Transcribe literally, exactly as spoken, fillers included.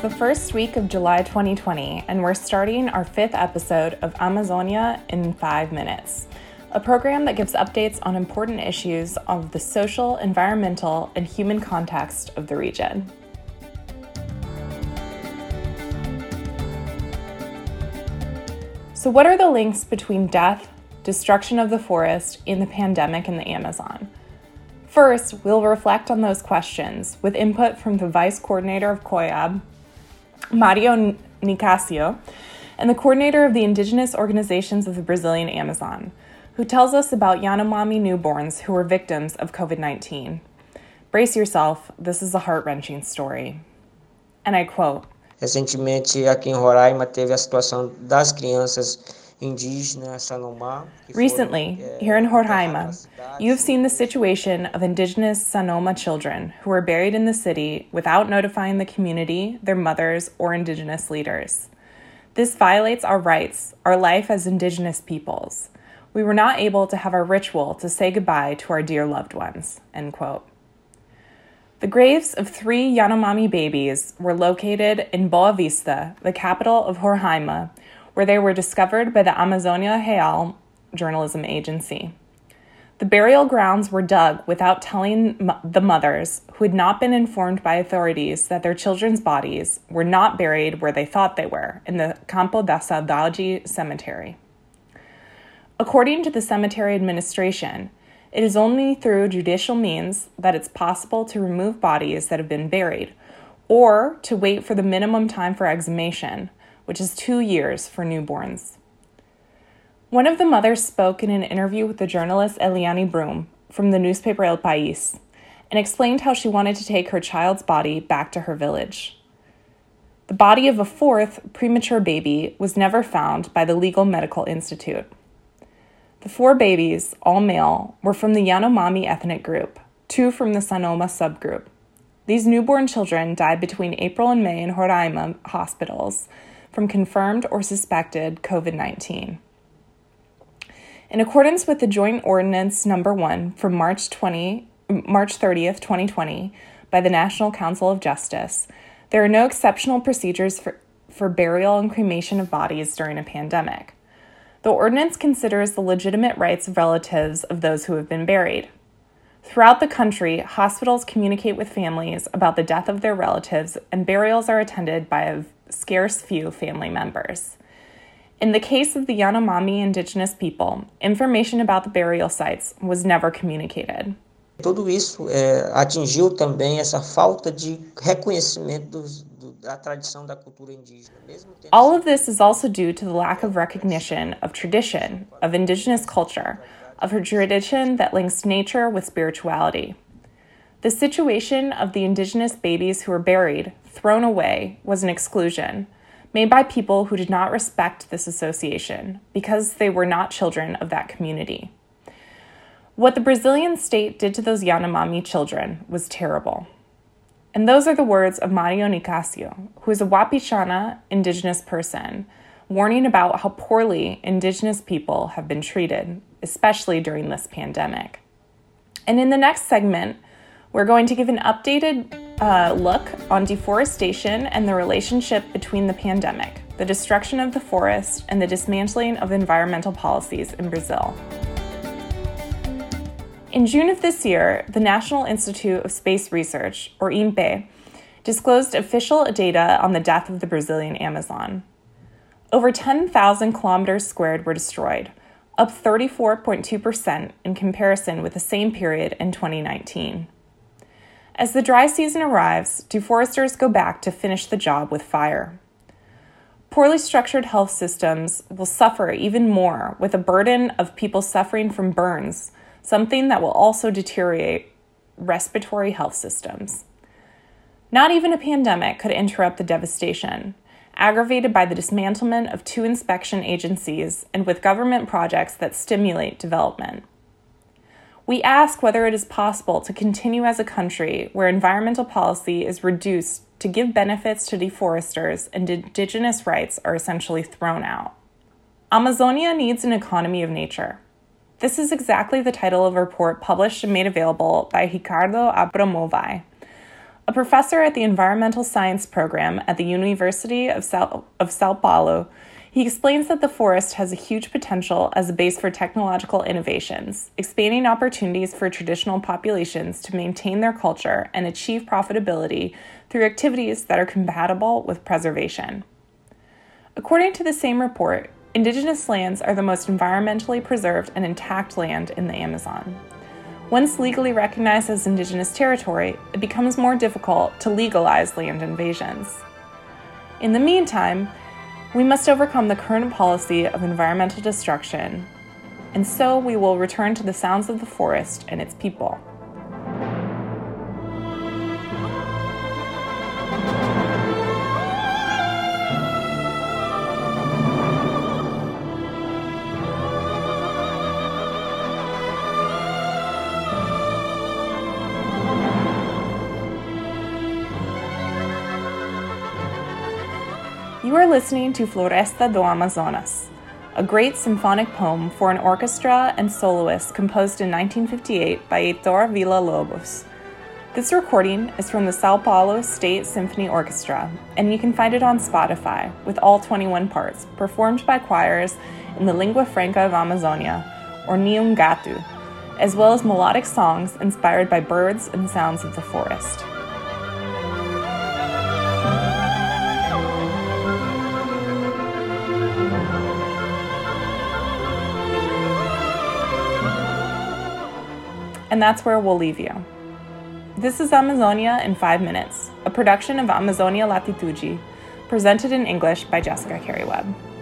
the first week of July twenty twenty, and we're starting our fifth episode of Amazonia in five minutes, a program that gives updates on important issues of the social, environmental, and human context of the region. So what are the links between death, destruction of the forest, and the pandemic in the Amazon? First, we'll reflect on those questions with input from the Vice Coordinator of COIAB, Mario Nicasio, and the Coordinator of the Indigenous Organizations of the Brazilian Amazon, who tells us about Yanomami newborns who were victims of covid nineteen. Brace yourself, this is a heart-wrenching story. And I quote, Recentemente, aqui em Roraima, teve a situação das crianças indígenas Sanoma. Recently, here in Roraima, you have seen the situation of indigenous Sanoma children who were buried in the city without notifying the community, their mothers, or indigenous leaders. This violates our rights, our life as indigenous peoples. We were not able to have our ritual to say goodbye to our dear loved ones, end quote. The graves of three Yanomami babies were located in Boa Vista, the capital of Roraima, where they were discovered by the Amazonia Real journalism agency. The burial grounds were dug without telling mo- the mothers, who had not been informed by authorities that their children's bodies were not buried where they thought they were, in the Campo da Saudade cemetery. According to the cemetery administration, it is only through judicial means that it's possible to remove bodies that have been buried, or to wait for the minimum time for exhumation, which is two years for newborns. One of the mothers spoke in an interview with the journalist Eliane Brum from the newspaper El País and explained how she wanted to take her child's body back to her village. The body of a fourth premature baby was never found by the Legal Medical Institute. The four babies, all male, were from the Yanomami ethnic group, two from the Sanoma subgroup. These newborn children died between April and May in Roraima hospitals from confirmed or suspected covid nineteen. In accordance with the Joint Ordinance Number one from March twentieth, March thirtieth, twenty twenty, by the National Council of Justice, there are no exceptional procedures for, for burial and cremation of bodies during a pandemic. The ordinance considers the legitimate rights of relatives of those who have been buried. Throughout the country, hospitals communicate with families about the death of their relatives, and burials are attended by a scarce few family members. In the case of the Yanomami indigenous people, information about the burial sites was never communicated. Tudo isso é, atingiu também essa falta de reconhecimento dos, do, da tradição da cultura indígena. Mesmo tendo... All of this is also due to the lack of recognition of tradition, of indigenous culture, of her tradition that links nature with spirituality. The situation of the indigenous babies who were buried, thrown away, was an exclusion, made by people who did not respect this association because they were not children of that community. What the Brazilian state did to those Yanomami children was terrible. And those are the words of Mario Nicasio, who is a Wapixana indigenous person, warning about how poorly indigenous people have been treated, especially during this pandemic. And in the next segment, we're going to give an updated uh, look on deforestation and the relationship between the pandemic, the destruction of the forest, and the dismantling of environmental policies in Brazil. In June of this year, the National Institute of Space Research, or I N P E, disclosed official data on the death of the Brazilian Amazon. Over ten thousand kilometers squared were destroyed, up thirty-four point two percent in comparison with the same period in twenty nineteen. As the dry season arrives, deforesters go back to finish the job with fire. Poorly structured health systems will suffer even more with a burden of people suffering from burns, something that will also deteriorate respiratory health systems. Not even a pandemic could interrupt the devastation, aggravated by the dismantlement of two inspection agencies and with government projects that stimulate development. We ask whether it is possible to continue as a country where environmental policy is reduced to give benefits to deforesters and indigenous rights are essentially thrown out. Amazonia needs an economy of nature. This is exactly the title of a report published and made available by Ricardo Abramovay, A professor at the Environmental Science program at the University of Sao, of Sao Paulo, he explains that the forest has a huge potential as a base for technological innovations, expanding opportunities for traditional populations to maintain their culture and achieve profitability through activities that are compatible with preservation. According to the same report, indigenous lands are the most environmentally preserved and intact land in the Amazon. Once legally recognized as indigenous territory, it becomes more difficult to legalize land invasions. In the meantime, we must overcome the current policy of environmental destruction, and so we will return to the sounds of the forest and its people. You are listening to Floresta do Amazonas, a great symphonic poem for an orchestra and soloists composed in nineteen fifty-eight by Heitor Villa-Lobos. This recording is from the Sao Paulo State Symphony Orchestra, and you can find it on Spotify with all twenty-one parts, performed by choirs in the Lingua Franca of Amazonia, or Niungatu, as well as melodic songs inspired by birds and sounds of the forest. And that's where we'll leave you. This is Amazonia in five minutes, a production of Amazonia Latitude, presented in English by Jessica Carey Webb.